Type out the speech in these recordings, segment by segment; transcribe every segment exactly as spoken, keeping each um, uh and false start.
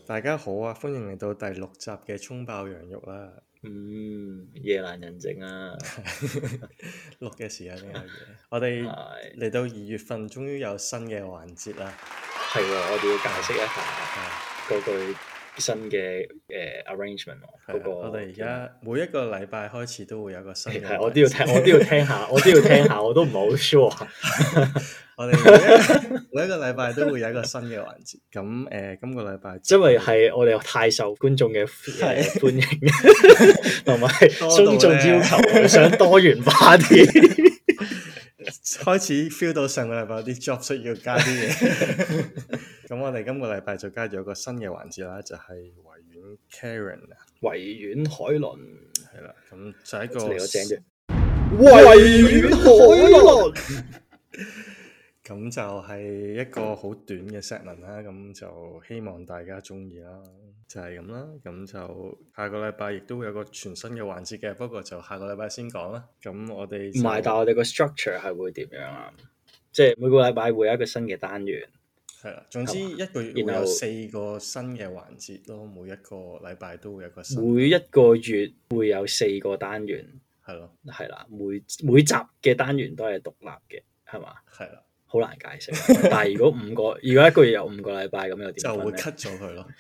大家好啊，歡迎嚟到第六集嘅蔥爆羊肉啦。 嗯，夜闌人靜啊， 錄嘅時間呢有嘢。我哋係嚟到二月份，終於有新嘅環節啦。 係喎，我哋要解釋一下嗰句新嘅誒 arrangement 喎。嗰個我哋而家每一個禮拜開始都會有個新嘅環節。 係，我都要聽，我都要聽下，我都要聽下，我都唔係好 sure。 我哋每一每一個禮拜都會有一個新嘅環節。咁誒，今個禮拜因為係我哋太受觀眾嘅誒歡迎，同埋觀眾要求想多元化啲。 開始 feel 到上個禮拜有啲 job 需要加啲嘢，咁我哋今個禮拜就加咗一個新嘅環節啦，就係維園 Karen 啊， 維園海倫係啦，咁就係一個嚟個正啫，維園海倫。 咁就係一個好短嘅 segment 啦，咁就希望大家中意啦，就係咁啦。咁就下個禮拜亦都會有個全新嘅環節嘅，不過就下個禮拜先講啦。咁我哋唔係，但係我哋個 structure 係會點樣啊？即係每個禮拜會有一個新嘅單元， 係啦。總之一個月會有四個新嘅環節咯，每一個禮拜都會有一個新。 每一個月會有四個單元， 係咯， 係啦，每每集嘅單元都係獨立嘅，係嘛？ 係啦。 好難解釋，但係如果五個，如果一個月有五個禮拜咁又點？ 就會 cut 咗佢咯。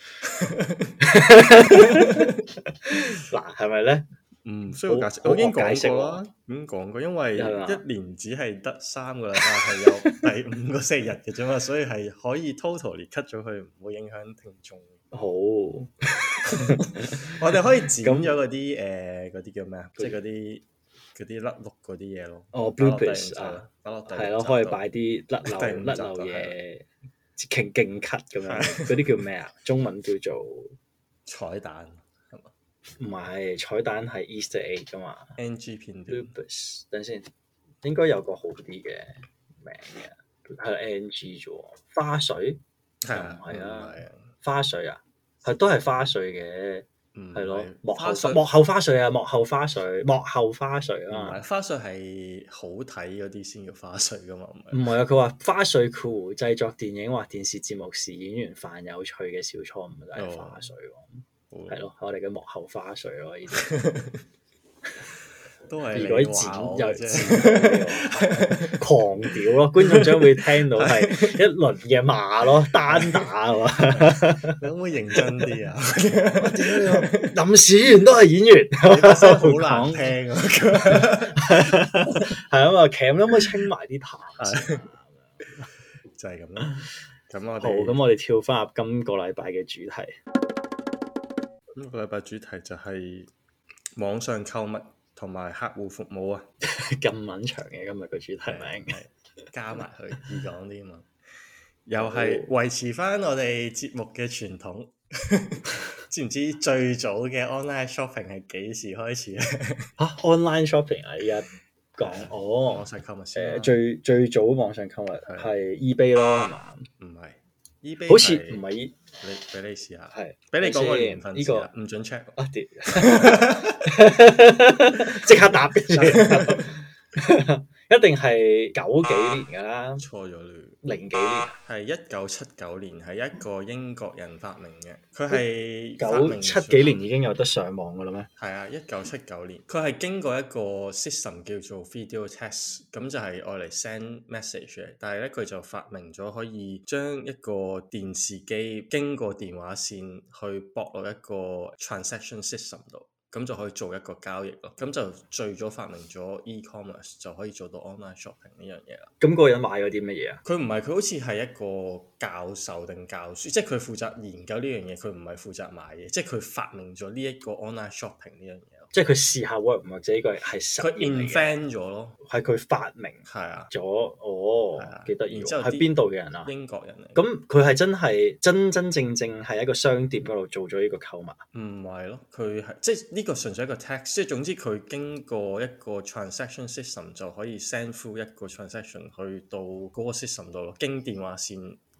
嗱，係咪咧？ 唔需要解釋，我已經講過啦，已經講過，因為一年只係得三個禮拜係有第五個星期日嘅啫嘛，所以係可以 totally cut 咗佢，唔會影響聽眾。 好， 我哋可以剪咗嗰啲誒嗰啲叫咩啊？即係嗰啲。嗰啲甩碌嗰啲嘢咯， 哦 bloopers 啊，係咯，可以擺啲甩漏甩漏嘢，勁勁 cut 咁樣，嗰啲叫咩啊？中文叫做彩蛋係嘛？ 唔係，彩蛋係 Easter egg 噶嘛 ？N G 片段 bloopers，等先，應該有個好啲嘅名嘅，係 N G 啫喎，花絮係啊， 唔係啊，花絮啊，係都係花絮嘅。係咯，幕後花幕後花絮啊，幕後花絮，幕後花絮啊， 唔係花絮係好睇嗰啲先叫花絮噶嘛，唔係。 唔係啊，佢話花絮酷製作電影或電視節目時演員犯有趣嘅小錯誤就係花絮喎，係咯，我哋嘅幕後花絮咯，呢啲都係如果剪又剪狂屌咯，觀眾將會聽到係一輪嘅罵咯，單打啊嘛， 你可唔可以認真啲啊？ 臨時員都係演員， 真係好難聽啊！ 係啊嘛，鉗可唔可以清埋啲痰？ 就係咁啦。咁我哋好，咁我哋跳翻入今個禮拜嘅主題。 今個禮拜主題就係網上購物同埋客戶服務啊， 咁撚長嘅今日個主題名， 加埋佢易講啲嘛，又係維持翻我哋節目嘅傳統。知唔知最早嘅 online shopping 係幾時開始咧？ 嚇 online shopping 啊！依家講哦， 網上購物先。 誒最最早網上購物係 eBay 咯，係嘛？ 唔係 eBay， 好似唔係。 你俾你試下， 係俾你講個年份呢個唔準 check 啊！屌，即刻答，一定係九幾年㗎啦。 錯咗啦， 零幾年係一九七九年，係一個英國人發明嘅。佢係九七幾年已經有得上網㗎啦咩？ 係啊，一九七九年，佢係經過一個 system 叫做 video text，咁就係愛嚟 send message 嘅。但係咧，佢就發明咗可以將一個電視機經過電話線去駁落一個 transaction system 度。咁就可以做一個交易咯，咁就最早發明咗 e-commerce 就可以做到 online shopping 呢樣嘢啦。 咁嗰個人買咗啲乜嘢啊？ 佢唔係，佢好似係一個教授定教書，即係佢負責研究呢樣嘢，佢唔係負責買嘢，即係佢發明咗呢一個 online shopping 呢樣嘢。 即係佢試下 work 或者呢個係實佢 invent 咗咯， 係佢發明係啊咗哦，幾得意。 然之後係邊度嘅人啊？ 英國人嚟。 咁佢係真係真真正正係一個商店嗰度做咗呢個購物？ 唔係咯，佢係即係呢個純粹一個 text，即係總之佢經過一個 transaction system 就可以 send through 一個 transaction 去到嗰個 system 度咯，經電話線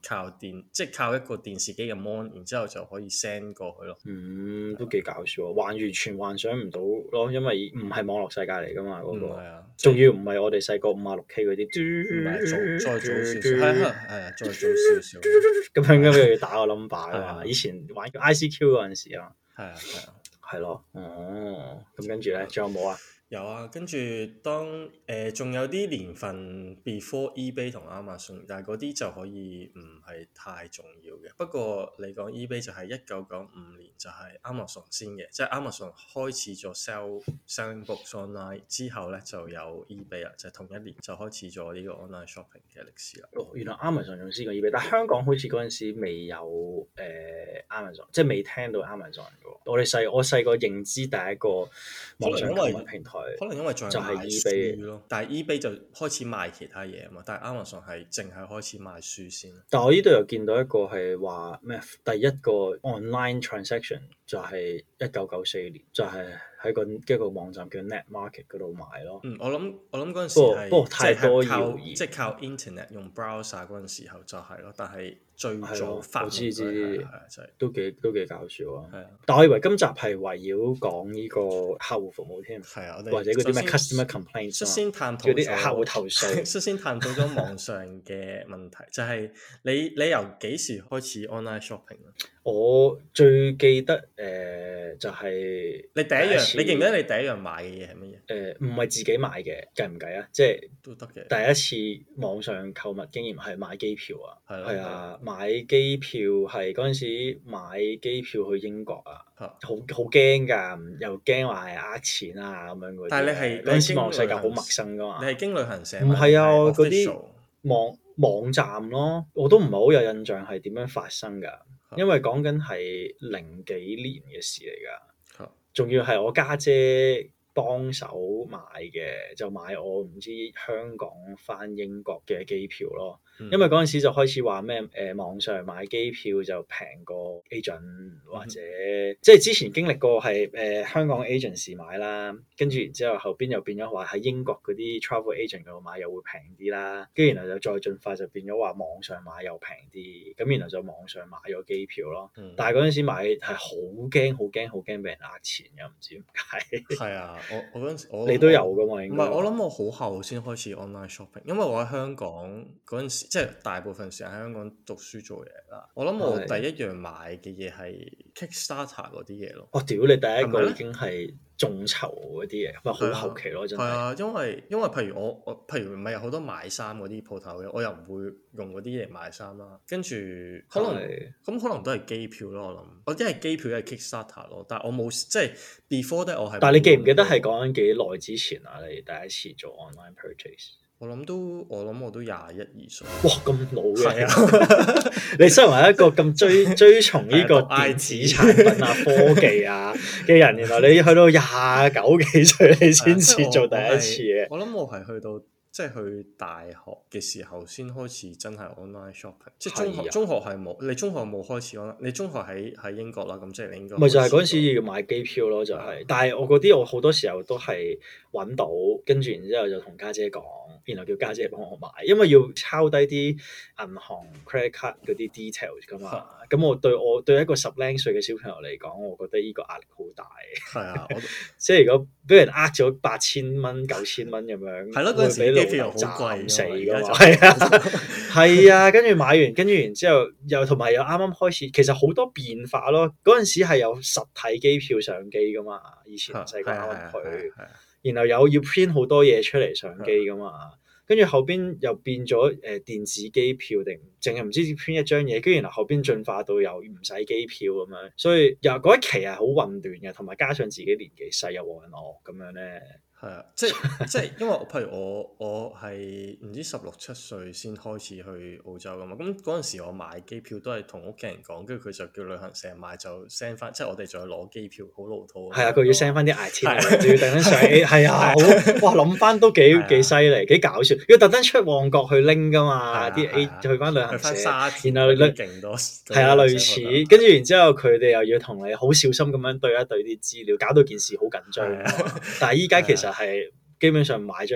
靠電，即係靠一個電視機嘅 mon， 然之後就可以 send 過去咯。 嗯，都幾搞笑啊！幻完全幻想唔到咯，因為唔係網絡世界嚟噶嘛，嗰、那個。 係啊， 仲要唔係我哋細個五啊六 K 嗰啲， 唔係早再早少少，係啊係啊，再早少少。 咁樣咁又要打個 number 啊嘛！以前玩 I C Q 嗰陣時啊， 係啊係啊， 係咯，哦，咁跟住咧，仲有冇啊？ 有啊，跟住當誒仲、呃、有啲年份 before eBay 同 Amazon， 但係嗰啲就可以唔係太重要嘅。不過你講 eBay 就係一九九五年就係 Amazon 先嘅，即係 Amazon 開始咗 sell selling books online 之後咧就有 eBay 啦，就係同一年就開始咗呢個 online shopping 嘅歷史啦。 哦，原來 Amazon 仲先過 eBay，但係香港好似嗰陣時未有誒、呃、Amazon，即係未聽到 Amazon 嘅。我哋細我細個認知第一個網上購物平台。 可能因為仲係賣書咯，但係 eBay 就開始賣其他嘢啊嘛，但係 Amazon 係淨係開始賣書先。 但係我呢度又見到一個係話咩？第一個 online transaction 就係一九九四年，就係、是、喺個一個網站叫 Net Market 嗰度買咯。 嗯，我諗我諗嗰陣時係不過太多謠言， 即係靠 internet 用 browser 嗰陣時候就係咯，但係最早發我知知， 係啊，就係都幾都幾搞笑啊！ 係啊， 但我以為今集係圍繞講呢個客戶服務添， 係啊，我哋或者嗰啲咩 customer complaint， 率先探討啲客戶投訴， 率先探討咗網上嘅問題，就係你你由幾時開始 online shopping 啊？ 我最記得誒、呃、就係、是、 你第一樣，你記唔記得你第一樣買嘅嘢係乜嘢？ 誒唔係自己買嘅，計唔計啊？即係都得嘅。第一次網上購物經驗係買機票啊，係啊，買機票係嗰陣時買機票去英國啊，好好驚㗎，又驚話係呃錢啊咁樣嗰啲。但係你係嗰陣時網世界好陌生㗎嘛？ 你係經旅行社？ 唔係啊，嗰啲網網站咯，我都唔係好有印象係點樣發生㗎。因為講緊係零幾年嘅事嚟㗎，仲要係我家姐幫手買嘅，就買我唔知香港返英國嘅機票咯。嗯、因為嗰陣時就開始話咩誒網上買機票就平過 agent 或者、嗯、即係之前經歷過係誒、呃、香港 agent 買啦，跟住然之後後邊又變咗話喺英國嗰啲 travel agent 嗰度買又會平啲啦，跟住然後就再進化就變咗話網上買又平啲，咁然後就網上買咗機票咯。嗯、但係嗰陣時買係好驚好驚好驚俾人呃錢嘅，唔知點解。係啊，我我嗰陣時我你都有㗎嘛？應該唔係，我諗我好後先開始 online shopping，因為我喺香港嗰陣時。即係大部分時間喺香港讀書做嘢啦。我諗我第一樣買嘅嘢係 Kickstarter 嗰啲嘢咯。 我屌、哦、你第一個已經係眾籌嗰啲嘢，咪好後期咯，真係。係啊，因為因為譬如我我譬如唔係有好多買衫嗰啲鋪頭嘅，我又唔會用嗰啲嚟買衫啦。跟住可能咁可能都係機票咯。我諗我一係機票一係 Kickstarter 咯，但係我冇即係 before that 我係。 但係你記唔記得係講緊幾耐之前啊？你第一次做 online purchase？ 我諗都，我諗我都廿一二歲。 哇，咁老嘅！啊、你身為一個咁追追從呢個電子產品啊、科技啊嘅人，原來你去到廿九幾歲，你先至做第一次嘅。 我諗我係去到即係去大學嘅時候先開始真係 online shopping。即係中學，中學係冇。你中學冇開始 online？你中學喺喺英國啦，咁即係你應該。 咪就係嗰陣時要買機票咯，就係、是。但係我嗰啲我好多時候都係揾到，跟住然之後就同家姐講。然後叫家姐幫我買，因為要抄低啲銀行 credit card 嗰啲 details 噶嘛。咁我對我對一個十零歲嘅小朋友嚟講，我覺得呢個壓力好大。係啊， 即係如果俾人呃咗八千蚊、九千蚊咁樣， 係咯，嗰陣時機票好貴死噶嘛。係啊，係啊，跟住買完，跟住然之後又同埋又啱啱開始，其實好多變化咯。嗰陣時係有實體機票上機噶嘛，以前細個啱去。然後有要 print 好多嘢出嚟上機噶嘛，跟住後邊又變咗誒、呃、電子機票定淨係唔知 print 一張嘢，跟住然後後邊進化到又唔使機票咁樣，所以又嗰一期係好混亂嘅，同埋加上自己年紀細又黃人惡咁樣咧。 係啊，即係即係，因為譬如我我係唔知十六七歲先開始去澳洲噶嘛，咁嗰陣時我買機票都係同屋企人講，跟住佢就叫旅行社買就 send 翻，即係我哋仲要攞機票，好老土。係啊，佢要 send 翻啲 itinerary，仲要特登上 A， 係啊，好哇諗翻都幾幾犀利，幾搞笑，要特登出旺角去拎噶嘛，啲 A 去翻旅行社，然後勁多， 係啊類似，跟住然之後佢哋又要同你好小心咁樣對一對啲資料，搞到件事好緊張。但係依家其實係基本上買張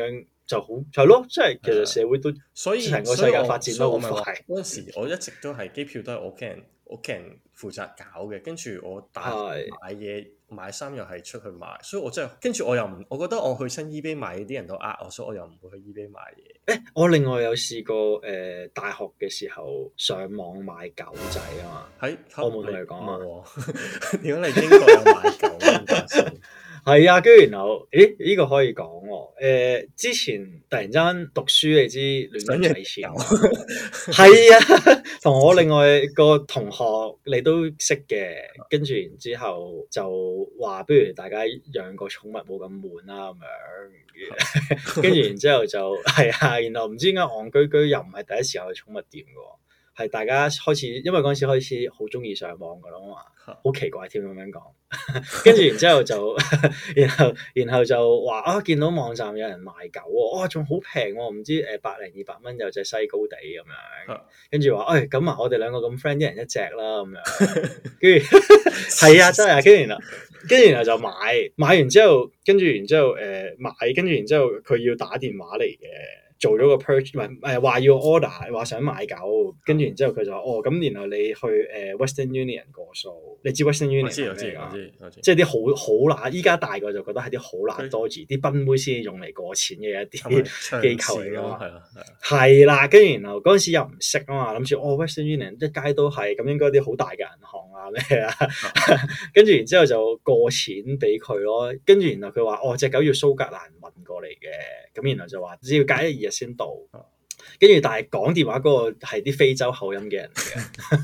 就好係咯，即係其實社會都所以成個世界發展都好快。 嗰陣時我一直都係機票都係我屋企人屋企人負責搞嘅，跟住我大買嘢買衫又係出去買，所以我真係跟住我又唔，我覺得我去親 eBay 買啲人都呃我，所以我又唔會去 eBay 買嘢。 誒，我另外有試過誒、呃，大學嘅時候上網買狗仔啊嘛，喺我冇同你講啊。 點解你英國有買狗咁係啊，跟住然後，誒呢、這個可以講喎、呃。之前突然間讀書，你知亂咁使錢，係啊，同我另外個同學你都識嘅，跟住然之後就話，不如大家養個寵物冇咁悶啦咁樣。跟住然之後就係啊，然後唔知點解戇居居又唔係第一次去寵物店嘅喎，係大家開始，因為嗰陣時開始好中意上網嘅啦嘛，好奇怪添咁樣講。跟住然之後就，然後然後就話啊，見到網站有人賣狗喎，哇，仲好平喎，唔知誒百零二百蚊有隻西高地咁樣。跟住話，誒咁啊，我哋兩個咁 friend，一人一隻啦咁樣。跟住係啊，真係啊，跟住然後跟住然後就買，買完之後，跟住然之後誒、呃、買，跟住然之後佢要打電話嚟嘅。做咗個 purchase 唔係誒話要 order 話想買狗，跟住然之後佢就話哦咁，然後你去誒、呃、Western Union 過數，你知 Western Union 我知我知我知我知， 即係啲好好乸，依家大個就覺得係啲好乸多字，啲賓妹先用嚟過錢嘅一啲機構嚟咯，係啊係啦，跟住然後嗰陣時又唔識啊嘛，諗住哦 Western Union 一街都係咁，應該啲好大嘅銀行啊咩啊，跟住然之後就過錢俾佢咯，跟住然後佢話哦隻狗要蘇格蘭運過嚟嘅，咁然後就話只要隔一二日先到，跟住但係講電話嗰個係啲非洲口音嘅人嚟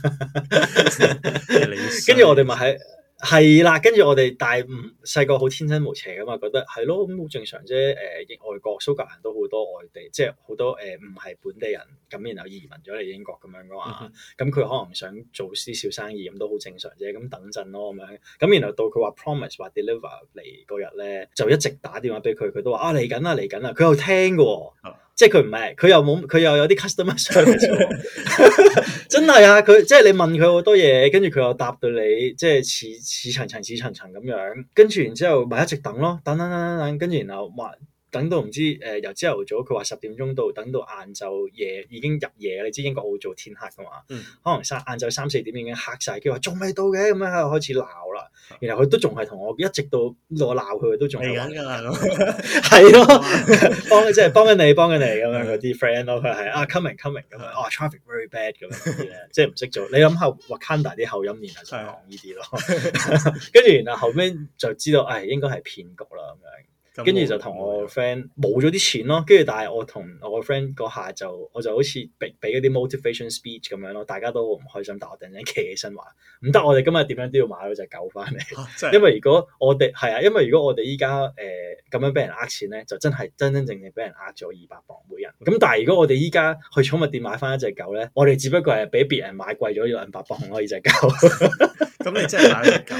嘅，跟住我哋咪喺係啦，跟住我哋但係唔細個好天真無邪噶嘛，覺得係咯咁好正常啫。誒、呃，外國蘇格蘭都好多外地，即係好多誒唔係本地人咁，然後移民咗嚟英國咁樣噶嘛。咁佢、嗯、可能想做啲小生意咁都好正常啫。咁等陣咯咁樣。咁然後到佢話 promise 話 deliver 嚟嗰日咧，就一直打電話俾佢，佢都話啊嚟緊啦嚟緊啦，佢又聽噶喎。嗯即係佢唔係，佢又冇，佢又有啲 customer service，真係啊！佢即係你問佢好多嘢，跟住佢又答到你，即係似似層層似層層咁樣，跟住然之後咪一直等咯，等等等等等，跟住然後話等到唔知誒、呃、由朝頭早佢話十點鐘到，等到晏晝夜已經入夜，你知英國好做天黑噶嘛？嗯、可能三晏晝三四點已經黑晒，佢話仲未到嘅，咁樣喺度開始鬧啦。然後佢都仲係同我一直到我鬧佢，都仲係緊㗎啦。係咯，幫即係幫緊你，幫緊你咁樣嗰啲 friend 咯。佢係啊 coming coming 咁樣，哦 traffic very bad 咁樣啲咧，即係唔識做。你諗下 Wakanda 啲口音，然後就講呢啲咯。跟住然後後尾就知道，誒、哎、應該係騙局啦咁樣。跟住就同我 friend 冇咗啲錢咯，跟住但係我同我個 friend 嗰下就我就好似俾俾嗰啲 motivation speech 咁樣咯，大家都好唔開心，但我突然間企起身話唔得，我哋今日點樣都要買嗰隻狗翻嚟，啊、因為如果我哋係啊，因為如果我哋依家誒咁樣俾人呃錢咧，就真係真真正正俾人呃咗二百磅每人。咁但係如果我哋依家去寵物店買翻一隻狗咧，我哋只不過係俾別人買貴咗兩百磅咯，呢隻狗。 咁你真係買咗隻狗？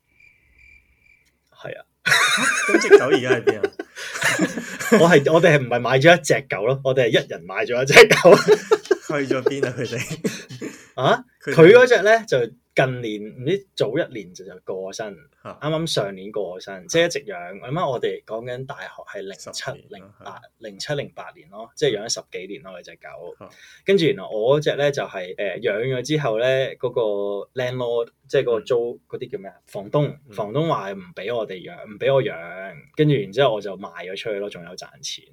係啊。 咁隻狗而家喺邊啊？ 我係我哋係唔係買咗一隻狗咯？我哋係一人買咗一隻狗。 去咗邊啊？佢哋啊？佢嗰隻咧就近年唔知早一年就就過身，啱啱上年過身，即係一直養。咁啊，我哋講緊大學係零七零八零七零八年咯，即係養咗十幾年咯，嗰隻狗。跟住原來我嗰隻咧就係誒養咗之後咧，嗰個 landlord 即係嗰個租嗰啲叫咩啊？房東房東話唔俾我哋養，唔俾我養。跟住然之後我就賣咗出去咯，仲有賺錢。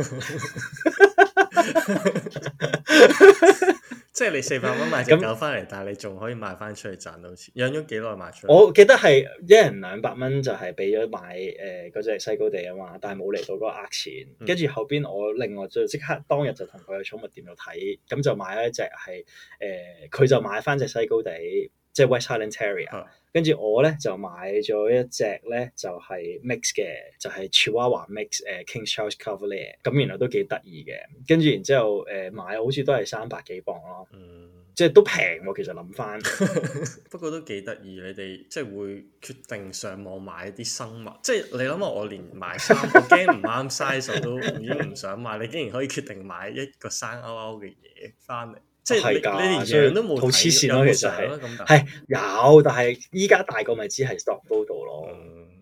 即係你四百蚊買隻狗翻嚟，但係你仲可以賣翻出去賺到錢。養咗幾耐賣出去？ 我記得係一人兩百蚊就係俾咗買誒嗰隻西高地啊嘛，但係冇嚟到嗰個呃錢。跟住、嗯、後邊我另外就即刻當日就同佢去寵物店度睇，咁就買咗一隻係誒，佢、呃、就買翻隻西高地，即係 West Highland Terrier。跟住、嗯、我咧就買咗一隻咧就係、是、mix 嘅，就係、是、Chihuahua mix 誒、呃、King Charles Cavalier。咁原來都幾得意嘅。跟住然之後誒、呃、買好似都係三百幾磅咯。嗯，即係都平喎，其實諗翻。 不過都幾得意，你哋即係會決定上網買啲生物，即係你諗下，我連買衫，我驚唔啱 size 都已經唔想買，你竟然可以決定買一個生勾勾嘅嘢翻嚟，即係你的你連樣都冇睇，好黐線咯，其實係係有，但係依家大個咪知係 stock photo 咯。嗯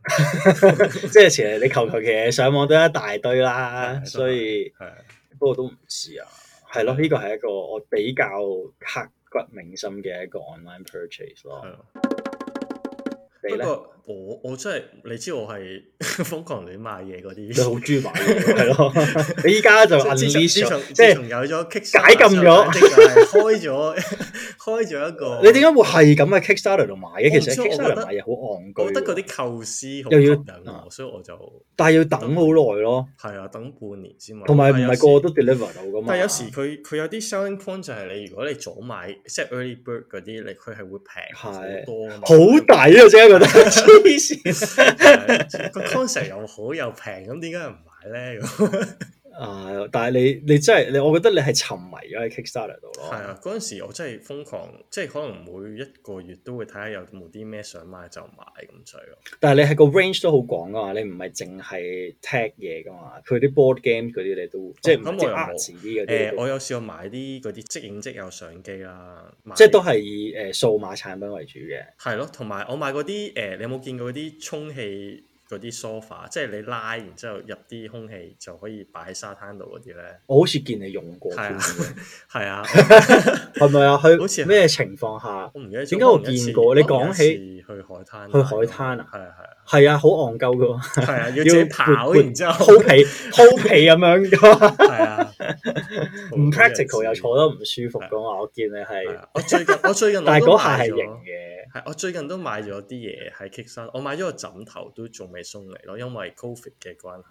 即係其實你求求其嘢上網都一大堆啦，所以不過都唔知啊。係咯，呢個係一個我比較刻骨銘心嘅一個 online purchase 咯。 不過我我真係你知我係瘋狂亂買嘢嗰啲， 你好中意買嘢係咯。你依家就 unleash 咗，即係有咗解禁咗， 開咗開咗一個。 你點解會係咁喺 Kickstarter 度買嘅？其實 Kickstarter 買嘢好戇居， 我覺得嗰啲構思好吸引我，所以我就但係要等好耐咯。 係啊，等半年先買。 同埋唔係個個都 deliver 到噶嘛。 但係有時佢佢有啲 selling point 就係你如果你早買即係 early bird 嗰啲，你佢係會平好多啊嘛。 好抵啊！真係覺得黐線。 個 concept 又好又平，咁點解唔買咧？ 啊！但係你你真係你，我覺得你係沉迷咗喺 Kickstarter 度咯。 係啊，嗰陣時我真係瘋狂，即係可能每一個月都會睇下有冇啲咩想買就買咁滯咯。 但係你係個 range 都好廣噶嘛，你唔係淨係 tech 嘢噶嘛，佢啲 board game 嗰啲你都即係唔係 art 啲嗰啲。誒， 我有試過買啲嗰啲即影即有相機啦， 即係都係以誒數碼產品為主嘅。 係咯，同埋我買嗰啲誒，你有冇見過嗰啲充氣嗰啲 sofa， 即係你拉，然之後入啲空氣就可以擺喺沙灘度嗰啲咧。 我好似見你用過。 係啊，係啊， 係咪啊？去好似咩情況下？ 我唔記得。 點解我見過？你講起去海灘， 去海灘啊？ 係啊係啊， 係啊，好戇鳩噶喎。 係啊，要自己跑，然之後鋪皮鋪皮咁樣噶嘛。係啊， 唔 practical 又坐得唔舒服噶嘛。我見你係。 我最近我最近但係嗰下係型嘅。 係，我最近都買咗啲嘢喺 Kickstarter，我買咗個枕頭都仲未送嚟咯，因為 Covid 嘅關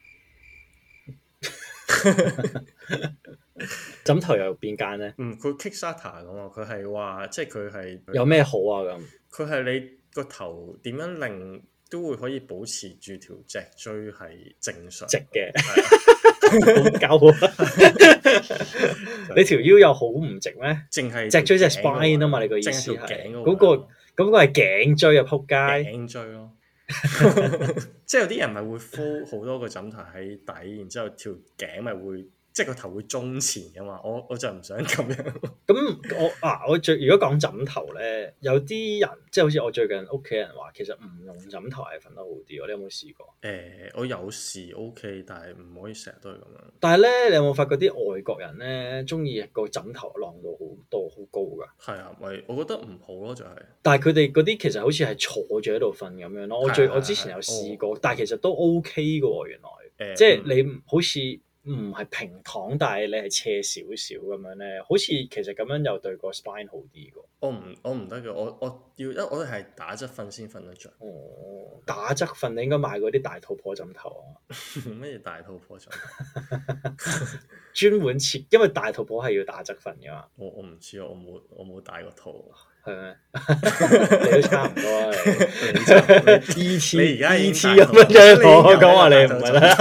係。 枕頭又邊間咧？ 嗯，佢 Kickstarter 咁啊，佢係話即係佢係有咩好啊咁？ 佢係你個頭點樣令都會可以保持住條脊椎係正常直嘅。好夠啊！你條腰又好唔直咩？ 淨係脊椎即係 spine 啊嘛？你個意思係嗰個嗰個係頸椎啊？仆街頸椎咯，即係有啲人咪會敷好多個枕頭喺底，然之後條頸咪會即係個頭會中前噶嘛？我我就唔想咁樣。 咁我啊，我最如果講枕頭咧，有啲人即係好似我最近屋企人話，其實唔用枕頭係瞓得好啲。你有冇試過？ 誒、欸，我有時 OK，但係唔可以成日都係咁樣。 但係咧，你有冇發覺啲外國人咧，中意個枕頭晾到好多好高㗎？ 係啊，咪我覺得唔好咯，就係、是。 但係佢哋嗰啲其實好似係坐住喺度瞓咁樣咯。我最我之前有試過，哦、但係其實都 OK 㗎喎，原來。欸、即係你好似。唔係平躺，但係你係斜少少咁樣咧，好似其實咁樣又對個 spine 好啲㗎。 我唔我唔得嘅，我我要因為我係打側瞓先瞓得着。 哦，打側瞓你應該買嗰啲大肚婆枕頭啊。 咩大肚婆枕頭？ 專門設，因為大肚婆係要打側瞓㗎嘛。 我我唔知啊，我冇我冇大過肚。 係咩？你都差唔多啊！你 E T 你而家 E T 咁樣啫，我講話你唔係啦，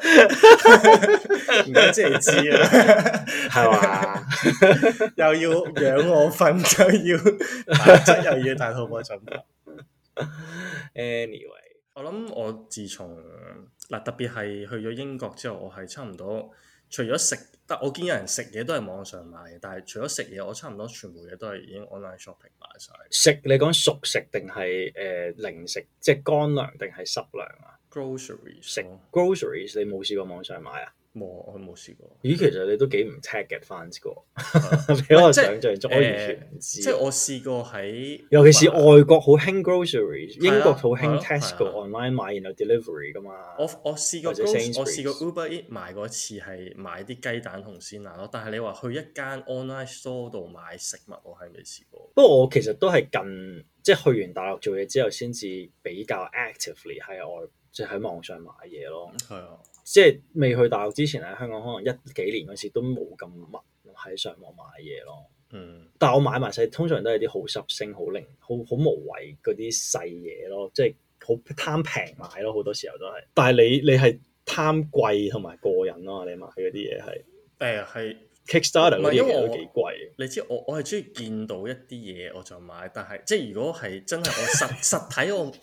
唔該即係知啦， 係嘛？ 又要養我瞓，又要打側，又要大肚婆枕頭。 Anyway， 我諗我自從嗱特別係去咗英國之後，我係差唔多除咗食。但我見有人食嘢都係網上買嘅，但係除咗食嘢，我差唔多全部嘢都係已經 online shopping 買晒。 食你講熟食定係誒零食，即係乾糧定係濕糧啊 ？Groceries 食 groceries 你冇試過網上買啊？ 冇，我冇試過。 咦，其實你都幾唔 tech advance 個，比我想象中，我完全唔知。 即係我試過喺， 尤其是外國好興 groceries，英國好興 Tesco online 買，然後 delivery 噶嘛。 我我試過，我試過 Uber Eats 買過一次係買啲雞蛋同鮮奶咯，但係你話去一間 online store 度買食物，我係未試過。 不過我其實都係近即係去完大陸做嘢之後，先至比較 actively 喺外即係喺網上買嘢咯。係啊。即係未去大陸之前喺香港，可能一幾年嗰時都冇咁密喺上網買嘢咯。嗯，但係我買埋晒，通常都係啲好濕星、好零、好好無謂嗰啲細嘢咯，即係好貪平買咯，好多時候都係。但係你你係貪貴同埋過癮咯，你買嗰啲嘢係誒係 Kickstarter 嗰啲嘢都幾貴。你知我我係中意見到一啲嘢我就買，但係即係如果係真係我實實體我我。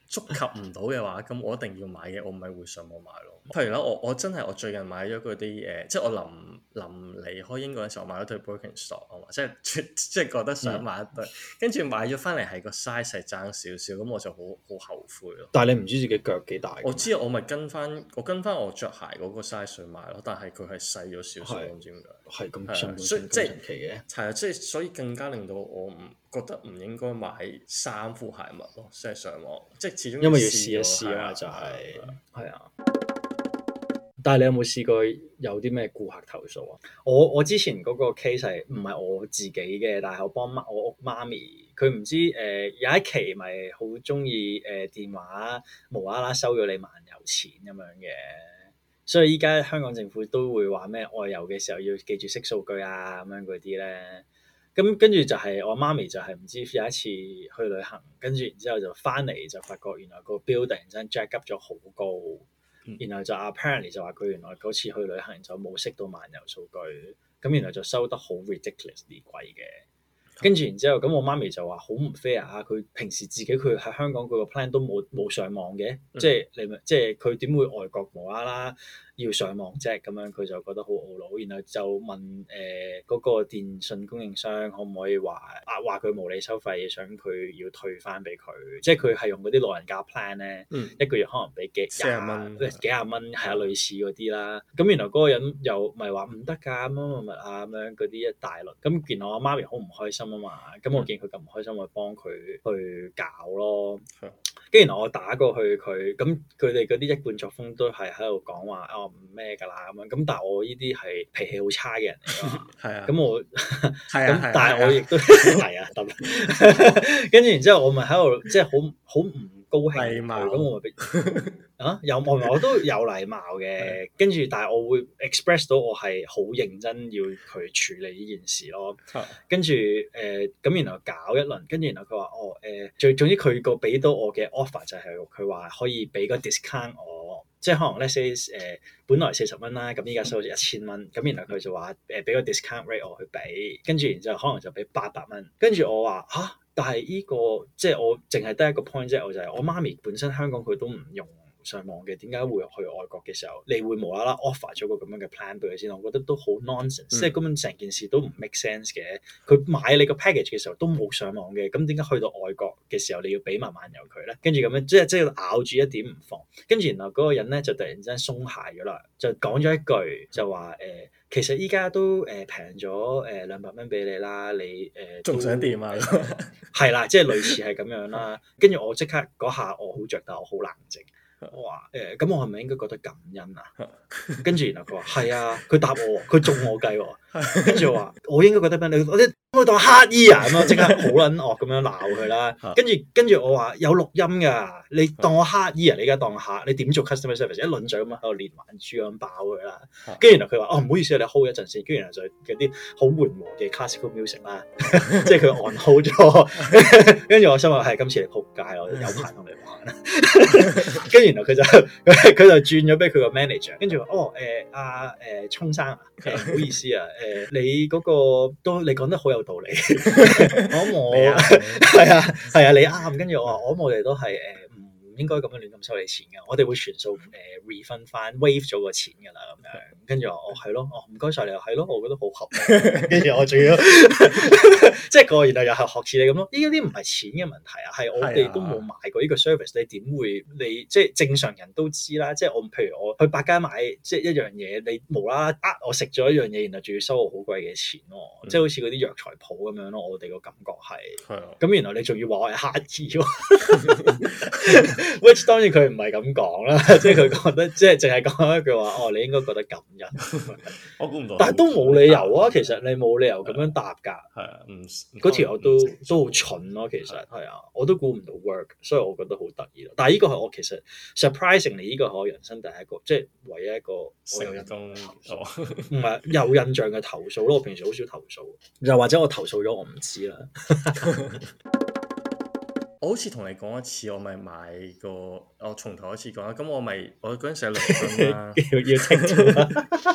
觸及唔到嘅話，咁我一定要買嘅，我咪會上網買咯。譬如啦，我我真係我最近買咗嗰啲誒，即係我臨臨離開英國嘅時候買咗對 Birkenstock 啊嘛，即係即係覺得想買一對，跟住、嗯、買咗翻嚟係個 size 係爭少少，咁我就好好後悔咯。 但係你唔知自己腳幾大？ 我知我咪跟翻我跟翻我着鞋嗰個 size 去買咯，但係佢係細咗少少，唔知點解。 係咁神所以即係神奇嘅。 係啊，即係所以更加令到我唔覺得唔應該買衫褲鞋襪咯，即係上網，即係始終因為要試一試啊，就係係啊。但係你有冇試過有啲咩顧客投訴啊？我我之前嗰個 case 係唔係我自己嘅，但係我幫媽我屋媽咪，佢唔知誒、呃、有一期咪好中意誒電話無啦啦收咗你漫遊錢咁樣嘅，所以依家香港政府都會話咩外遊嘅時候要記住識數據啊咁樣嗰啲咧。咁跟住就係我媽咪就係唔知有一次去旅行，跟住然之後就翻嚟就發覺原來個 bill 突然間 jack up 咗好高。然後就 apparently 就話佢原來嗰次去旅行就冇識到漫遊數據，咁原來就收得好 ridiculously 貴嘅。跟住然之後，咁我媽咪就話好唔 fair 啊！佢平時自己佢喺香港佢個 plan 都冇冇上網嘅，嗯、即係你咪即係佢點會外國無啦啦要上網啫？咁樣佢就覺得好懊惱，然後就問誒嗰、呃那個電信供應商可唔可以話啊話佢無理收費，想佢要退翻俾佢，即係佢係用嗰啲老人家 plan 咧，嗯、一個月可能俾幾廿蚊，幾廿蚊係啊類似嗰啲啦。咁原來嗰個人又咪話唔得㗎，乜乜乜啊咁樣嗰啲一大輪。咁原來我媽咪好唔開心啊嘛，咁我見佢咁唔開心，我幫佢去搞咯。跟住然後我打過去佢，咁佢哋嗰啲一貫作風都係喺度講話哦唔咩㗎啦咁樣。咁但係我呢啲係脾氣好差嘅人嚟㗎嘛。係啊。咁我係啊，但係我亦都係啊得。跟住然之後我咪喺度即係好好唔高興佢，咁我咪俾啊有我我都有禮貌嘅。跟住但係我會 express 到我係好認真要佢處理呢件事咯。跟住誒咁然後搞一輪，跟住然後佢話哦誒，最、呃、總之佢個俾到我嘅 offer 就係佢話可以俾個 discount 我，即係可能 let's say 誒、呃、本來四十蚊啦，咁依家收咗一千蚊，咁然後佢就話誒俾個 discount rate 我去俾，跟住然之後可能就俾八百蚊，跟住我話嚇，但係呢、這個即係我淨係得一個 point 啫，我就係我媽咪本身香港佢都唔用上網嘅，點解會去外國嘅時候，你會無啦啦 offer 咗個咁樣嘅 plan 俾佢先？我覺得都好 nonsense，、嗯、即係根本成件事都唔 make sense 嘅。佢買你個 package 嘅時候都冇上網嘅，咁點解去到外國嘅時候你要俾埋漫遊佢咧？跟住咁樣即係即係咬住一點唔放，跟住然後嗰個人咧就突然之間鬆懈咗啦，就講咗一句就話誒、呃，其實依家都誒平咗誒兩百蚊俾你啦，你誒仲、呃、想點啊？係啦，即係類似係咁樣啦。跟住我即刻嗰下我好着，但我好冷靜。我話誒，咁、欸、我係咪應該覺得感恩啊？跟住然後佢話係啊，佢答我，佢中我計喎。跟住我話我應該覺得咩？你我啲我當乞衣啊咁樣，即刻好撚惡咁樣鬧佢啦。跟住跟住我話有錄音㗎，你當我乞衣啊？你而家當客，你點做 customer service？一輪嘴咁樣喺度連環豬咁爆佢啦。跟住然後佢話哦，唔好意思，你 hold 一陣先。跟住然後就有啲好緩和嘅 classical music 啦，即係佢 on hold 咗。跟住我心話係今次你仆街，我有排同你玩啦。跟住然後佢就佢就轉咗俾佢個 manager，跟住話哦誒阿誒聰生啊，唔、呃、好意思啊，誒、呃、你嗰、那個都你講得好有道理，我諗我係啊係啊你啱，跟住我話我諗我哋都係誒唔應該咁樣亂咁收你錢嘅，我哋會全數誒 refund 翻 waive 咗個錢㗎啦咁樣，跟住我哦係咯，哦唔該晒你，係咯，我覺得好合理，跟住我仲要即係個然後又係學似你咁咯，呢啲唔係錢嘅問題啊，係我哋都冇買過呢個 service，你點會你即係正常人都知啦，即係我譬如我去百佳買即係一樣嘢，你無啦啦呃我食咗一樣嘢，然後仲要收我好貴嘅錢咯，嗯、即係好似嗰啲藥材鋪咁樣咯，我哋個感覺係，咁的然後你仲要話我係乞兒喎。Which 當然佢唔係咁講啦，即係佢覺得即係淨係講一句話，哦，你應該覺得感恩。我估唔到，但係都冇理由啊！其實你冇理由咁樣答㗎。係啊，唔嗰條我都都好蠢咯。其實係啊，我都估唔到 work，所以我覺得好得意咯。但係呢個係我其實 surprisingly 呢個係我人生第一個，即係唯一一個我有印象唔係有印象嘅投訴咯。我平時好少投訴，又或者我投訴咗我唔知啦。 我好似同你講一次，我咪買個，我從頭一次講啦。咁我咪我嗰陣時喺倫敦啦，要要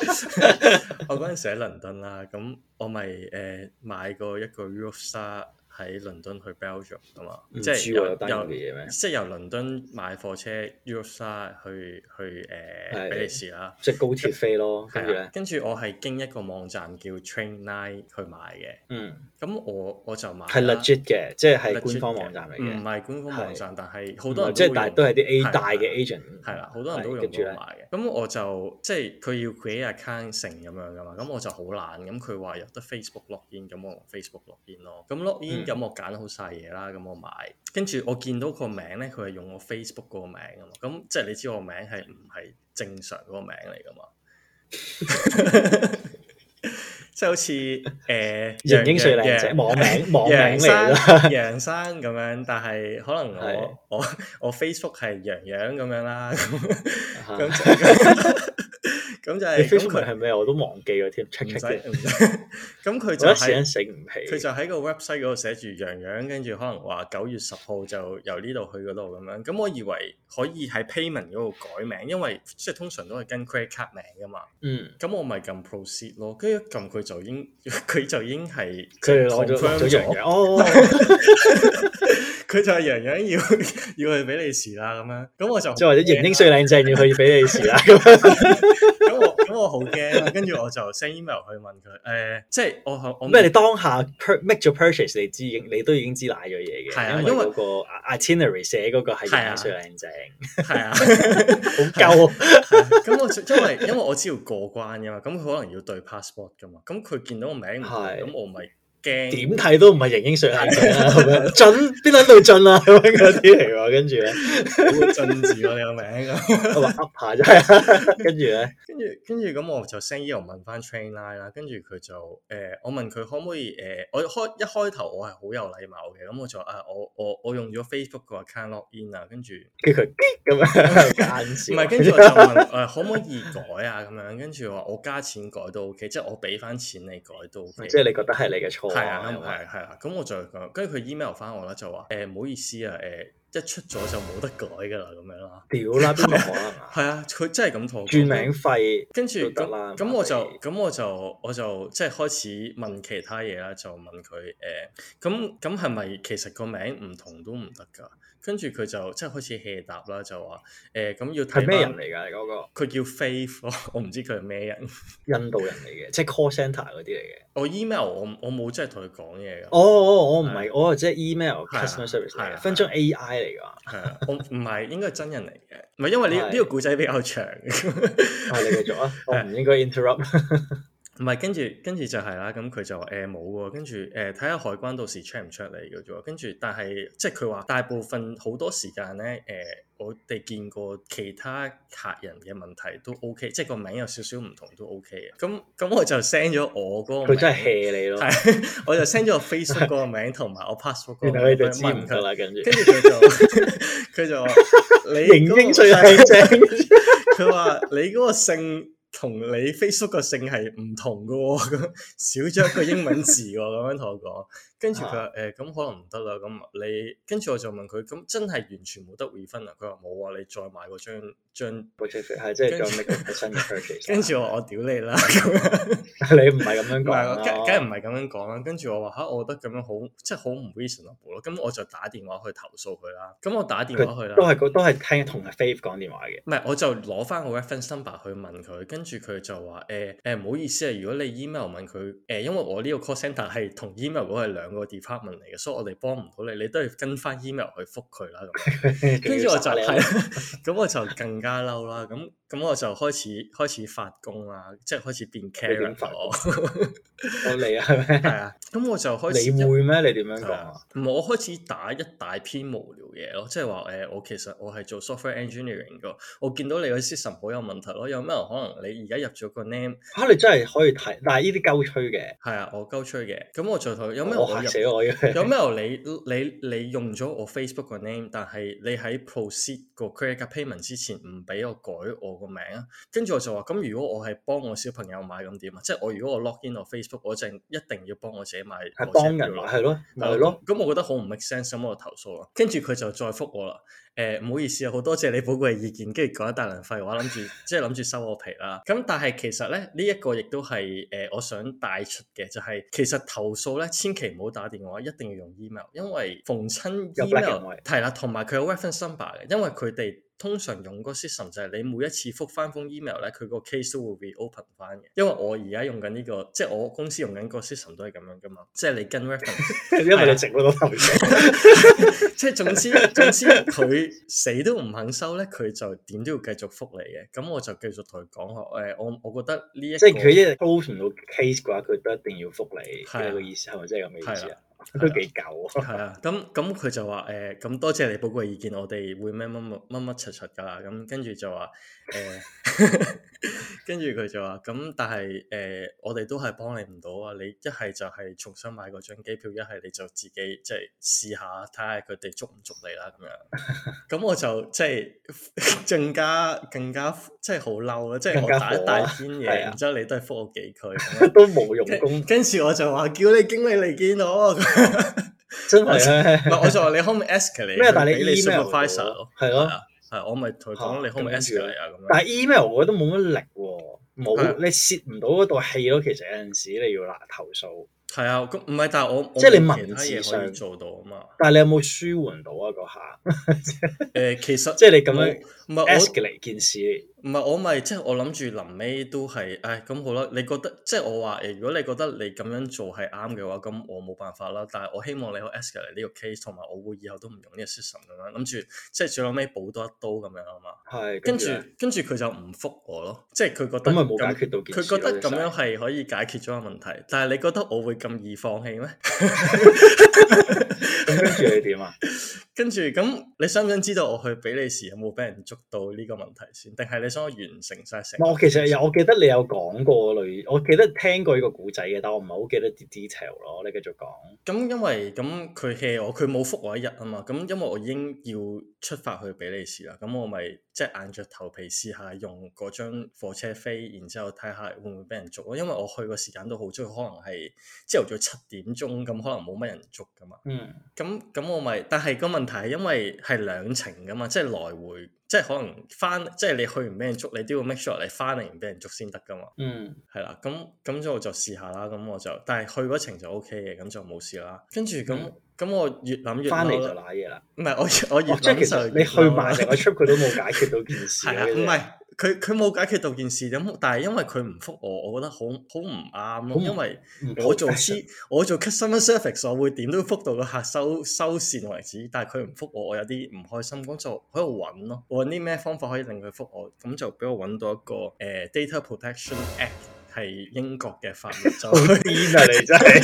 清我嗰陣時喺倫敦啦，咁我咪誒買過一個 Eurostar 喺倫敦去 Belgium 噶嘛， 即係由由即係由倫敦買火車 Eurostar 去去誒、呃、比利時啦， 即係高鐵飛咯。跟住咧， 跟住我係經一個網站叫 Trainline 去買嘅。 嗯， 咁我我就買係 legit 嘅，即係係官方網站嚟嘅， 唔係官方網站，但係好多人即係但係都係啲 A 大嘅 agent， 係啦，好多人都用到買嘅。咁我就即係佢要 create account 成咁樣噶嘛，咁我就好懶。咁佢話有得 Facebook login，咁我用 Facebook login 咯。咁 login 咁我揀好晒嘢啦，咁我買。跟住我見到個名咧，佢係用我 Facebook 嗰個名啊嘛。咁即係你知我名係唔係正常嗰個名嚟噶嘛？即係好似誒型英帥靚仔網名網名嚟啦， 楊生咁樣，但係可能我我我 Facebook 係楊洋咁樣啦，咁咁咁就係 Facebook 係咩？我都忘記咗添，唔使唔使。咁佢就係佢就喺個 website 嗰度寫住楊洋，跟住可能話九月十號就由呢度去嗰度咁樣。咁我以為可以喺 payment 嗰度改名，因為即係通常都係跟 credit card 名噶嘛。 嗯。 咁我咪撳 proceed 咯，跟住撳佢就已經佢就已經係佢攞咗楊洋哦。 佢就係楊洋要要去比利時啦咁樣，咁我就即係或者型英帥靚正要去比利時啦咁樣。 咁我咁我好驚啦，跟住我就 send email 去問佢，誒、呃，即係我我咩？你當下 make 咗 purchase，你知你都已經知賴咗嘢嘅， 係啊， 因為嗰個 itinerary 寫嗰個係型英帥靚正， 係啊， 好夠。 咁我因為因為我知道過關㗎嘛，咁佢可能要對 passport 㗎嘛，咁佢見到個名唔同，咁我咪。 點睇都唔係型英帥靚正啦，咁樣準邊撚度準啊咁樣嗰啲嚟喎，跟住咧好進字喎你個名， 我話噏下啫，跟住咧， 跟住跟住咁我就 send email 問翻 Trainline 啦，跟住佢就誒、呃、我問佢可唔可以誒、呃、我開一開頭我係好有禮貌嘅，咁我就啊我我我用咗 Facebook 個 account login 啊，跟住叫佢咁樣間笑， 唔係跟住我就問誒、呃、可唔可以改啊咁樣，跟住話我加錢改都 OK， 即係我俾翻錢你改都 OK， 即係你覺得係你嘅錯。 係啊，係係啦，咁我就講，跟住佢 email 翻我啦，就話誒唔好意思啊，誒、呃、一出咗就冇得改噶啦，咁樣啦。 屌啦，邊個可能啊？ 係啊，佢真係咁同我講。轉名費， 跟住咁咁我就咁我就我就即係開始問其他嘢啦，就問佢誒，咁咁係咪其實個名唔同都唔得㗎？跟住佢就即係開始 hea 答啦，就話誒咁要睇係咩人嚟㗎？你嗰個佢叫 Faith 咯，我唔知佢係咩人。 印度人嚟嘅，即係 call centre 嗰啲嚟嘅。 我 email 我我冇真係同佢講嘢㗎。 哦哦，我唔係，我即係 email customer service 嚟嘅，分鐘 A I 嚟㗎。 係啊，我唔係應該係真人嚟嘅，唔係因為呢呢個故仔比較長。啊， 你繼續啊，我唔應該 interrupt。 唔係，跟住跟住就係啦，咁佢就話誒冇喎，跟住誒睇下海關到時 check 唔 check 你嘅啫，跟住但係即係佢話大部分好多時間咧誒，我哋見過其他客人嘅問題都 OK，即係個名有少少唔同都 OK 嘅。咁咁我就 send 咗我嗰個名， 佢真係 hea 你咯。 係，我就 send 咗我 Facebook 嗰個名同埋我 passport 嗰個名， 然後佢就知唔得啦，跟住跟住佢就佢就話你型英帥靚正， 佢話你嗰個姓。同你 Facebook 個姓係唔同嘅喎，咁少咗一個英文字喎，咁樣同我講。跟住佢話誒，咁可能唔得啦。咁你跟住我就問佢，咁真係完全冇得 refund 啊？佢話冇啊，你再買嗰張張， 係即係再 make 個新嘅 purchase。 跟住我話我屌你啦， 你唔係咁樣講， 梗梗係唔係咁樣講啦。跟住我話嚇，我覺得咁樣好，即係好唔 reasonable 咯。咁我就打電話去投訴佢啦。咁我打電話去啦， 都係都係聽同阿 Faith 講電話嘅。 唔係，我就攞翻個 reference number 去問佢，跟住佢就話誒誒唔好意思啊，如果你 email 問佢誒、呃，因為我呢個 call centre 係同 email 嗰個係兩個 department 嚟嘅，所以我哋幫唔到你，你都要跟翻 email 去覆佢啦。咁跟住我就係，咁我就更加嬲啦。咁咁我就開始開始發功啦，即係開始變 Karen 咗。 我嚟啊，係咪？ 係啊，咁我就開始。 你會咩？你點樣講啊？ 唔係，我開始打一大篇無聊嘢咯，即係話誒，我其實我係做 software engineering 㗎，我見到你個 system 好有問題咯，有咩可能你而家入咗個 name 嚇、啊？你真係可以睇，但係呢啲鳩吹嘅。 係啊，我鳩吹嘅，咁我就同有咩我嚇死我嘅。 有咩你你你用咗我 Facebook 個 name，但係你喺 proceed 個 credit card payment 之前唔俾我改我個名啊？跟住我就話咁，如果我係幫我小朋友買咁點啊？即係我如果我 log in 我 Facebook，我就一定要幫我自己買。 係幫人買係咯，係咯。 咁我覺得好唔 make sense，咁我就投訴啦。跟住佢就再覆我啦。誒唔好意思啊，好多謝你寶貴意見，跟住講一大輪廢話，諗住即係諗住收我皮啦。咁但係其實咧，呢一個亦都係誒我想帶出嘅，就係其實投訴咧，千祈唔好好打電話，一定要用 email， 因為逢親 email 係啦，同埋佢有 reference number 嘅，因為佢哋通常用個 system 就係你每一次覆翻封 email 咧，佢個 case 都會 reopen 翻嘅。因為我而家用緊呢個，即係我公司用緊個 system 都係咁樣噶嘛，即係你跟 reference， 因為你直嗰個頭像， 即係總之總之佢死都唔肯收咧，佢就點都要繼續覆你嘅。咁我就繼續同佢講話，誒，我我覺得呢一個即係佢一日 close 唔到 case 嘅話，佢都一定要覆你。係啊，個意思係咪即係咁嘅意思啊？都幾舊啊！ 係啊，咁咁佢就話誒，咁、呃、多謝你寶貴意見，我哋會咩乜乜乜乜柒柒噶啦，咁跟住就話誒，跟住佢就話咁，但係誒、呃，我哋都係幫你唔到啊！你一係就係重新買嗰張機票，一係你就自己即係試下睇下佢哋捉唔捉你啦咁樣。咁我就即係更加更加即係好嬲啦！即係我打一大篇嘢，然之後你都係覆我幾句， 都冇用功。 跟住我就話叫你經理嚟見我。 真係咧， 唔係我就話你可唔可以 escalate 咩？但係你 email 咯， 係咯， 係我咪同佢講你可唔可以 escalate 啊咁樣。 但係 email 我覺得冇乜力喎，冇你泄唔到嗰道氣咯。其實有陣時你要嗱投訴。 係啊，咁唔係，但係我即係你文字上可以做到啊嘛。 但係你有冇舒緩到啊？嗰下誒，其實即係你咁樣唔係 escalate 件事。 唔係我咪即係我諗住臨尾都係，唉咁好啦。你覺得即係我話誒，如果你覺得你咁樣做係啱嘅話，咁我冇辦法啦。但係我希望你可以 escalate 呢個 case，同埋我會以後都唔用呢個 system 咁樣，諗住即係最後尾補多一刀咁樣啊嘛。 係。 跟住跟住佢就唔覆我咯，即係佢覺得咁咪冇解決到件事。 佢覺得咁樣係可以解決咗個問題，但係你覺得我會咁易放棄咩？ 咁跟住你點啊？ 跟住咁，你想唔想知道我去比利時有冇俾人捉到呢個問題先？定係你想我完成晒成？ 我其實有，我記得你有講過類，我記得聽過呢個古仔嘅，但我唔係好記得啲 detail 咯。你繼續講。咁因為咁佢 hea 我，佢冇覆我一日啊嘛。咁因為我已經要出發去比利時啦，咁我咪即係硬着頭皮試下用嗰張火車飛，然之後睇下會唔會俾人捉咯。因為我去個時間都好早，可能係朝頭早七點鐘，咁可能冇乜人捉噶嘛。嗯。咁咁我咪，但係個問題係因為係兩程噶嘛，即係來回，即係可能翻，即係你去唔俾人捉，你都要 make sure 你翻嚟唔俾人捉先得噶嘛。嗯。係啦，咁咁就我就試下啦，咁我就，但係去嗰程就 O K 嘅，咁就冇事啦。跟住咁。嗯咁我越諗越翻嚟就瀨嘢啦。 唔係我我越諗就越你去埋成個 trip 佢都冇解決到件事。 係啊，唔係佢佢冇解決到件事咁，但係因為佢唔覆我，我覺得好好唔啱咯。因為我做 C 我做 customer service，我會點都覆到個客收收線為止。但係佢唔覆我，我有啲唔開心，咁就喺度揾咯，揾啲咩方法可以令佢覆我。咁就俾我揾到一個誒、呃、Data Protection Act。係英國嘅法律，就癲啊！你真係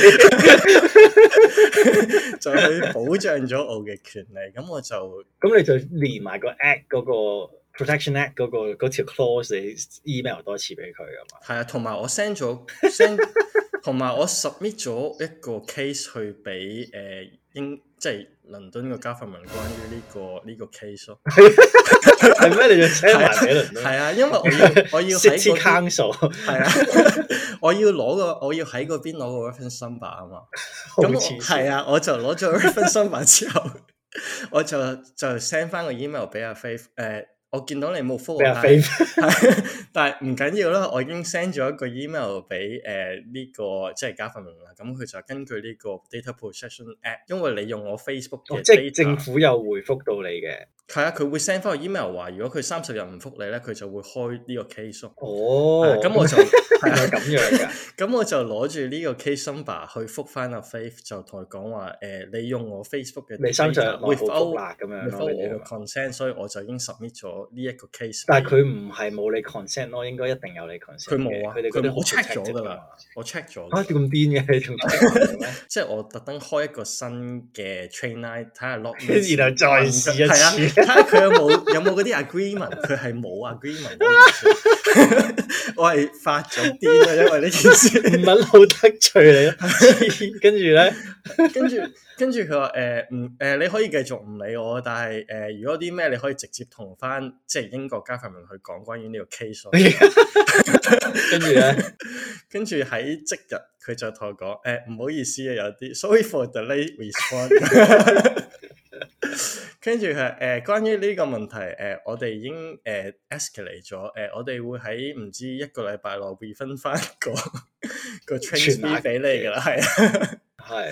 就去保障咗我嘅權利，咁我就咁你就連埋個 act 嗰個 protection act 嗰、嗰個嗰條 clause，你 email 多次俾佢噶嘛？ 係啊，同埋我 send 咗 send，同埋我 submit 咗一個 case 去俾誒、呃、英即係倫敦個 government 關於呢、呢個呢、呢個 case 咯。 係咩？你就 send 埋俾倫敦？ 係啊，因為我要我要喺 City Council 係啊，我要攞個我要喺嗰邊攞個 reference number 啊嘛。咁係啊，我就攞咗 reference number 之後，我就就 send 翻個 email 俾阿 Faith 誒。我見到你冇覆我，但係唔緊要啦。我已經 send 咗一個 email 俾誒呢個即係加份名啦。咁佢就根據呢個 Data Protection Act，因為你用我 Facebook 嘅 data， 即係政府有回覆到你嘅。 係啊，佢會 send 翻個 email 話，如果佢三十日唔覆你咧，佢就會開呢個 case。 哦， 咁我就係咪咁樣噶？ 咁我就攞住呢個 case number 去覆翻阿 Faith，就同佢講話誒，你用我 Facebook 嘅 data，without 啦咁樣咯， 我嘅 consent，所以我就已經 submit 咗呢一個 case。 但係佢唔係冇你 consent 咯，應該一定有你 consent。 佢冇啊， 佢哋佢哋我 check 咗噶啦，我 check 咗。 啊，點咁癲嘅？你仲 check 咩？ 即係我特登開一個新嘅 train line，睇下 log， 然後再試一次， 睇下佢有冇有冇嗰啲 agreement，佢係冇 agreement。我係發咗癲啊，因為呢件事唔係好得罪你咯。跟住咧， 跟住跟住佢話誒唔誒，你可以繼續唔理我，但係誒、呃，如果啲咩你可以直接同翻即係英國加法民去講關於呢個 case。 跟住咧， 跟住喺即日佢就同我講誒，唔好意思啊，有啲 sorry for the late response。跟住係誒，關於呢個問題誒、呃，我哋已經誒、呃、escalate 咗誒、呃，我哋會喺唔知一個禮拜內 refund 翻個個 train fee 俾你噶啦，係啊， 係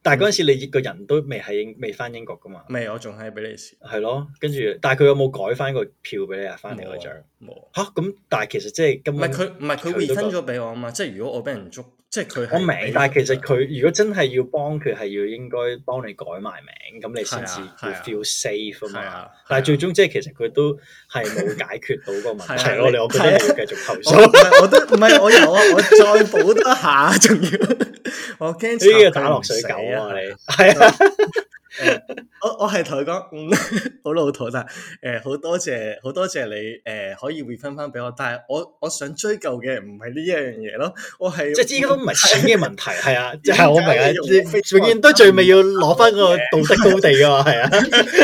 但係嗰陣時你個人都未喺英未翻英國噶嘛？ 未，我仲喺比利時。 係咯，跟住，但係佢有冇改翻個票俾你啊？翻嚟嗰張冇嚇，咁但係其實即係根本唔係佢唔係佢 refund 咗俾我啊嘛，即係如果我俾人捉，即係佢我明，但係其實佢如果真係要幫佢，係要應該幫你改埋名，咁你先至會 feel safe 啊嘛。但係最終即係其實佢都係冇解決到個問題咯。你我覺得你要繼續投訴。 我都唔係我有啊，我再補多下，仲要我驚呢個打落水狗啊！你係啊。 我我係同佢講，嗯，好老土，但係誒好多謝好多謝你誒、呃、可以 refund 翻俾我，但係我我想追究嘅唔係呢一樣嘢咯，我係即係依家都唔係錢嘅問題，係啊，即係我明啊，永遠都最尾要攞翻個道德高地噶嘛，係啊，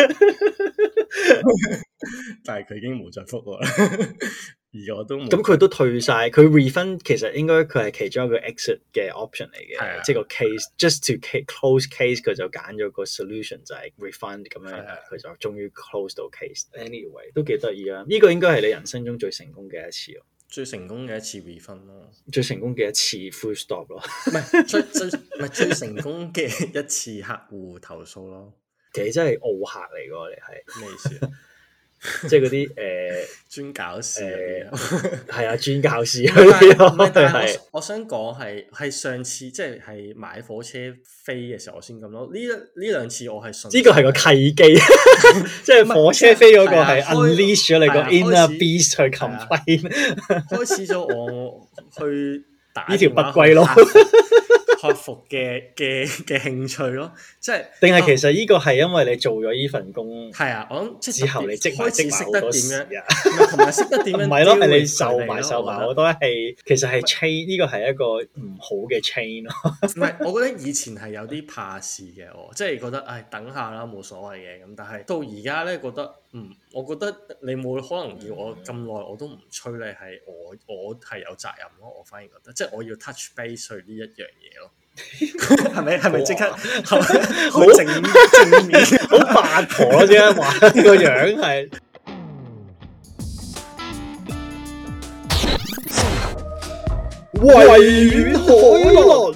但係佢已經冇再覆我啦。而我都咁佢都退晒，佢 refund 其實應該佢係其中一個 exit 嘅 option 嚟嘅，即係個 case just to close case 佢就揀咗個 solution 就係 refund 咁樣，佢就終於 close 到 case。Anyway 都幾得意啊！呢個應該係你人生中最成功嘅一次咯， 最成功嘅一次 refund 咯， 最成功嘅一次 full stop 咯， 唔係最最唔係最成功嘅一次客戶投訴咯。 其實真係奧客嚟㗎，你係咩意思啊？ 即係嗰啲誒專搞事嗰啲， 係啊，專搞事嗰啲咯。 係我想講係係上次即係係買火車飛嘅時候我先咁咯。呢一呢兩次我係順呢個係個契機，即係火車飛嗰個係 unleash 咗你個 inner beast 去 complain， 開始咗我去打呢條不歸咯。 克服嘅嘅嘅興趣咯，即係定係其實呢個係因為你做咗呢份工， 係啊，我諗即係之後你積埋積埋好多事啊， 同埋識得點樣， 唔係咯，係你受埋受埋好多係，其實係 chain 呢個係一個唔好嘅 chain 咯。 唔係，我覺得以前係有啲怕事嘅，我即係覺得唉等下啦冇所謂嘅咁，但係到而家咧覺得嗯，我覺得你冇可能要我咁耐我都唔催你，係我我係有責任咯，我反而覺得即係我要 touch base 呢一樣嘢咯。係咪係咪即刻好正正面好八婆咯？點解話個樣係維園海倫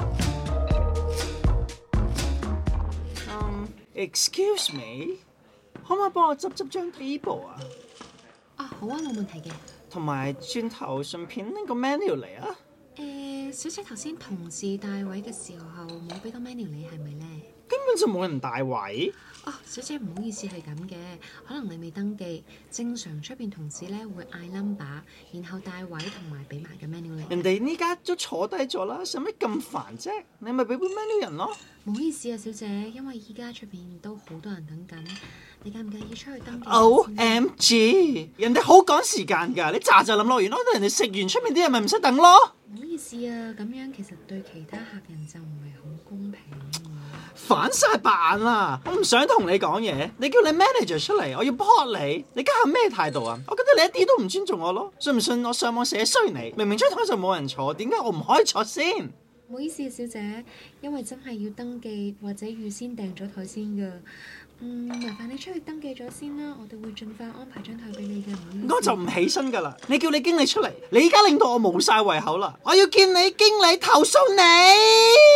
？Um, excuse me，可唔可以幫我執執張 table 啊？ 啊，好啊，冇問題嘅。 同埋轉頭順便拎個 menu 嚟啊！ 誒，小姐頭先同事帶位嘅時候冇俾到 menu 你係咪呢？ 根本就冇人帶位。 哦，小姐唔好意思係咁嘅，可能你未登記。正常出邊同事咧會嗌 number，然後帶位同埋俾埋個 menu 你。 人哋呢家都坐低咗啦，使乜咁煩啫？你咪俾杯 menu 人咯。 唔好意思啊，小姐，因為依家出邊都好多人等緊，你介唔介意出去登記 ？O M G， 人哋好趕時間㗎，你咋咋諗落完咯？等人哋食完出面啲人咪唔使等咯。 唔好意思啊，咁樣其實對其他客人就唔係好公平。 反晒白眼啦！我唔想同你講嘢，你叫你 manager 出嚟，我要 report 你，你家下咩態度啊？我覺得你一啲都唔尊重我咯，信唔信我上網寫衰你？明明張台就冇人坐，點解我唔可以坐先？ 唔好意思啊，小姐，因為真係要登記或者預先訂咗台先㗎。嗯，麻煩你出去登記咗先啦，我哋會盡快安排張台俾你嘅。唔好意思， 我就唔起身㗎啦！你叫你經理出嚟，你而家令到我冇晒胃口啦！我要見你經理投訴你。